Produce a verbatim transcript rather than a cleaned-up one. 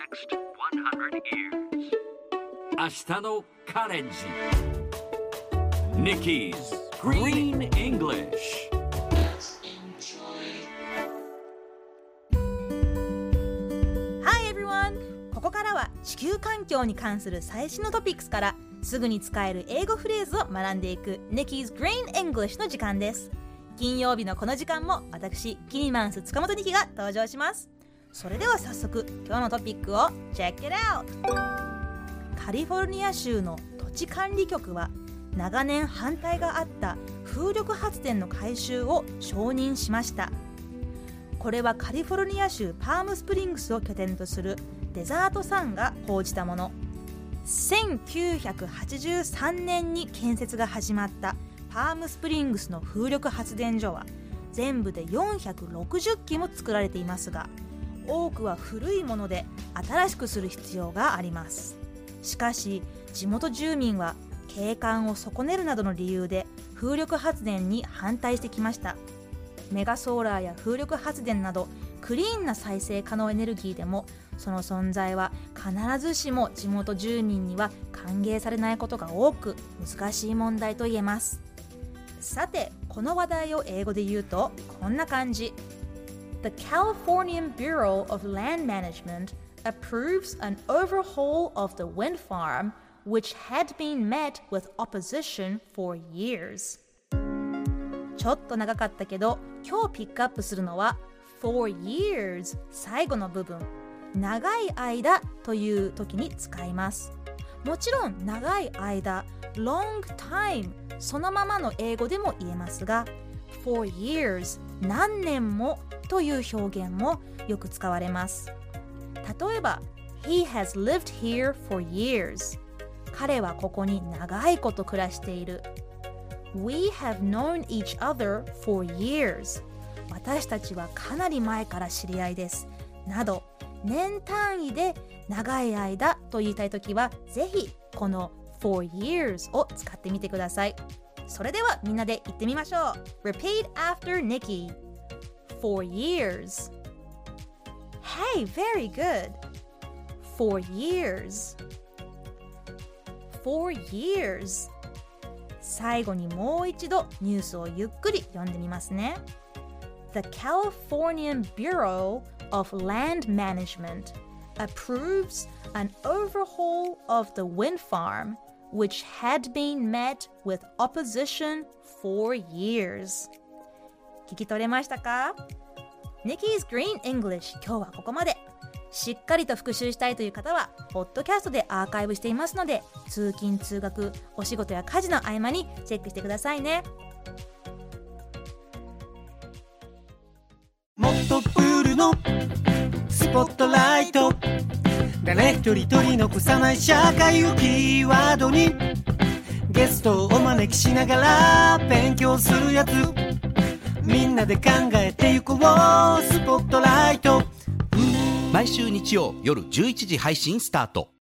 next one hundred years. 明日のカレンジ Nikki's Green English。 Hi everyone! ここからは地球環境に関する最新のトピックスからすぐに使える英語フレーズを学んでいく Nikki's Green English の時間です。金曜日のこの時間も私キニマンス塚本ニキが登場します。それでは早速今日のトピックを Check it out! カリフォルニア州の土地管理局は長年反対があった風力発電の改修を承認しました。これはカリフォルニア州パームスプリングスを拠点とするデザートサンが報じたもの。せんきゅうひゃくはちじゅうさんねんに建設が始まったパームスプリングスの風力発電所は全部でよんひゃくろくじゅっきも作られていますが、多くは古いもので新しくする必要があります。しかし地元住民は景観を損ねるなどの理由で風力発電に反対してきました。メガソーラーや風力発電などクリーンな再生可能エネルギーでもその存在は必ずしも地元住民には歓迎されないことが多く難しい問題と言えます。さてこの話題を英語で言うとこんな感じ。 The Californian Bureau of Land Management approves an overhaul of the wind farm which had been met with opposition for years。 ちょっと長かったけど今日ピックアップするのは for years 最後の部分、長い間という時に使います。もちろん長い間 long time そのままの英語でも言えますが for years 何年もという表現もよく使われます。例えば He has lived here for years。 彼はここに長いこと暮らしている。 We have known each other for years。 私たちはかなり前から知り合いですなど、年単位で長い間と言いたいときはぜひこの for years を使ってみてください。それではみんなで言ってみましょう。 Repeat after Nikki. For years. Hey, very good. For years. For years. 最後にもう一度ニュースをゆっくり読んでみますね。 The Californian Bureau of Land Management approves an overhaul of the wind farm which had been met with opposition for years。 聞き取れましたか？ Nikki's Green English 今日はここまで。しっかりと復習したいという方はポッドキャストでアーカイブしていますので、通勤通学お仕事や家事の合間にチェックしてくださいね。 もっとプールのスポットライト、誰一人取り残さない社会をキーワードにゲストをお招きしながら勉強するやつ、みんなで考えてゆこうスポットライト。 毎週日曜夜じゅういちじ配信スタート。